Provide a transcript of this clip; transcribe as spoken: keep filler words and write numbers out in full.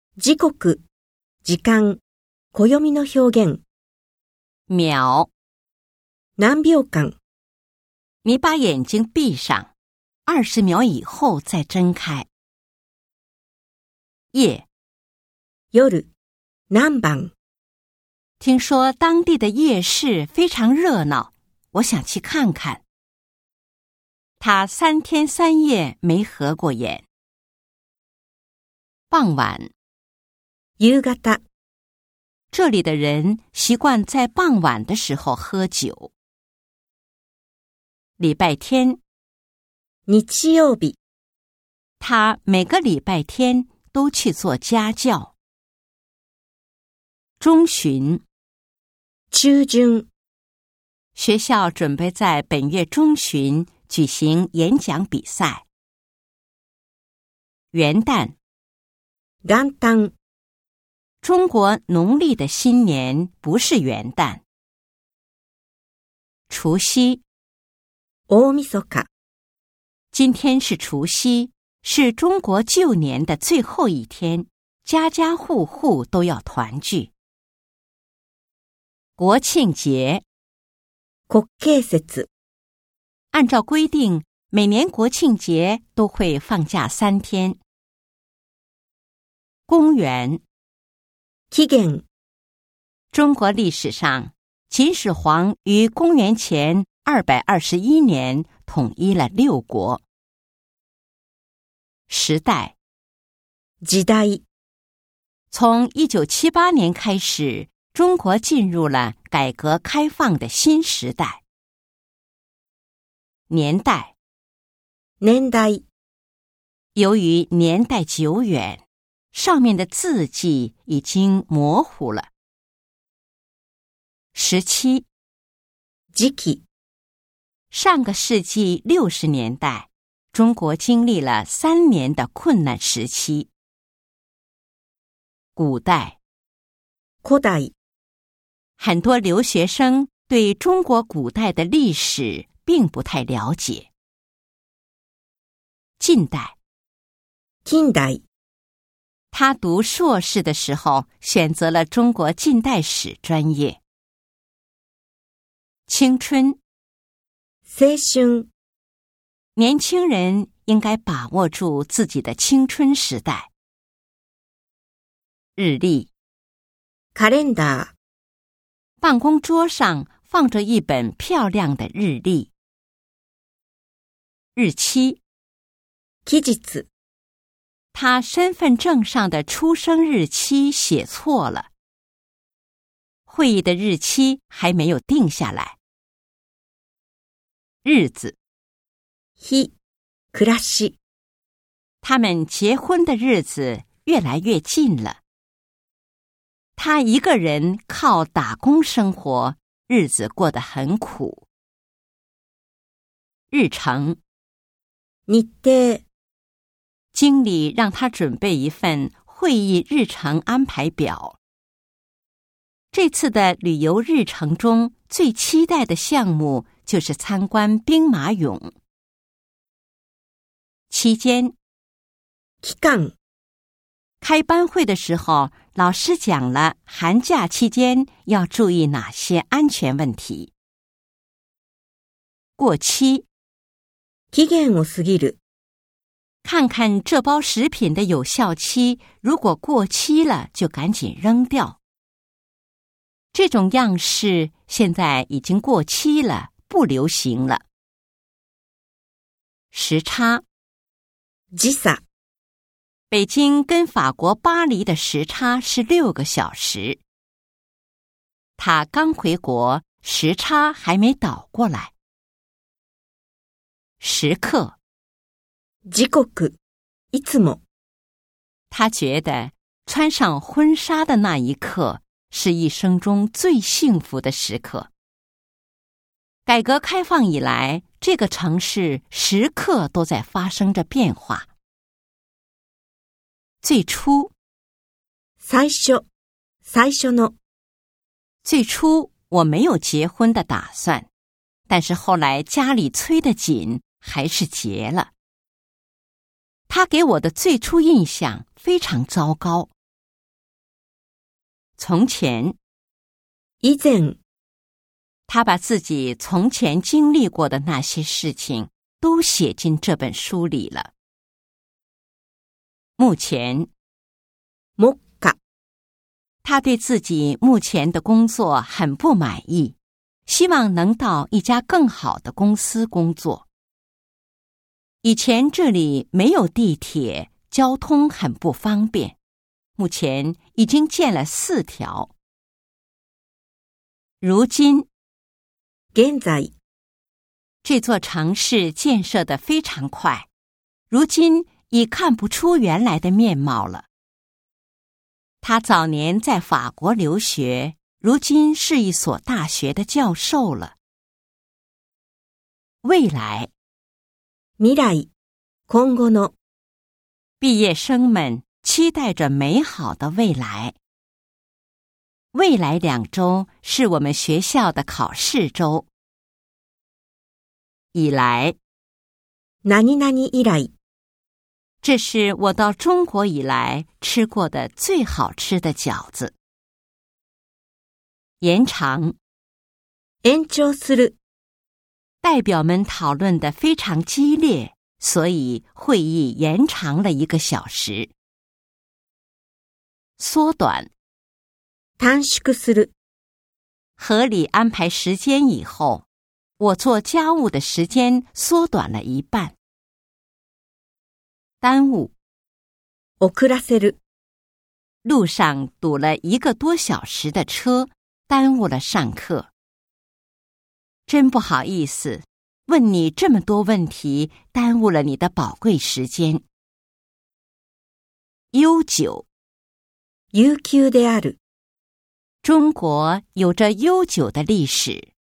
時刻、時間、暦の表現。 秒， 何秒間。 你把眼睛闭上，二十秒以后再睁开。夜， 夜、何番。 听说当地的夜市非常热闹，我想去看看。他三天三夜没合过眼。傍晚， 夕方。 这里的人习惯在傍晚的时候喝酒。礼拜天， 日曜日。 他每个礼拜天都去做家教。中旬， 中旬。 学校准备在本月中旬举行演讲比赛。元旦， 元旦。 中国农历的新年不是元旦。除夕， 大晦日。 今天是除夕，是中国旧年的最后一天，家家户户都要团聚。国庆节， 国慶節。 按照规定，每年国庆节都会放假三天。公元， 期限。 中国历史上，秦始皇于公元前二百二十一年统一了六国。时代， 時代。 从一九七八年开始，中国进入了改革开放的新时代。年代， 年代。 由于年代久远，上面的字迹已经模糊了。时期， 時期。 上个世纪六十年代，中国经历了三年的困难时期。古代， 古代。 很多留学生对中国古代的历史并不太了解。近代， 近代。 他读硕士的时候选择了中国近代史专业。青春， 青春。 年轻人应该把握住自己的青春时代。日历， カレンダー。 办公桌上放着一本漂亮的日历。日期， 期日。 他身份证上的出生日期写错了。会议的日期还没有定下来。日子， 日、暮らし。 他们结婚的日子越来越近了。他一个人靠打工生活，日子过得很苦。日程， 日程。 经理让他准备一份会议日程安排表。这次的旅游日程中最期待的项目就是参观兵马俑。期间， 期間。 开班会的时候，老师讲了寒假期间要注意哪些安全问题。过期， 期限を過ぎる。 看看这包食品的有效期，如果过期了就赶紧扔掉。这种样式现在已经过期了，不流行了。时差， 時差。 北京跟法国巴黎的时差是六个小时。他刚回国，时差还没倒过来。时刻， 時刻。いつも。 他觉得穿上婚纱的那一刻是一生中最幸福的时刻。改革开放以来，这个城市时刻都在发生着变化。最初， 最初、最初の。 最初我没有结婚的打算，但是后来家里催得紧，还是结了。他给我的最初印象非常糟糕， 从前。 以前。 他把自己从前经历过的那些事情都写进这本书里了。目前。 目下。 他对自己目前的工作很不满意，希望能到一家更好的公司工作。以前这里没有地铁，交通很不方便，目前已经建了四条。如今。 现在。 这座城市建设得非常快，如今已看不出原来的面貌了。他早年在法国留学，如今是一所大学的教授了。未来。 未来。今後の。 毕业生们期待着美好的未来。未来两周是我们学校的考试周。以来。 何々以来。 这是我到中国以来吃过的最好吃的饺子。延长。 延長する。 代表们讨论得非常激烈，所以会议延长了一个小时。缩短。 短縮する。 合理安排时间以后，我做家务的时间缩短了一半。耽误。 遅らせる。 路上堵了一个多小时的车，耽误了上课。真不好意思，问你这么多问题，耽误了你的宝贵时间。悠久。 悠久である。 中国有着悠久的历史。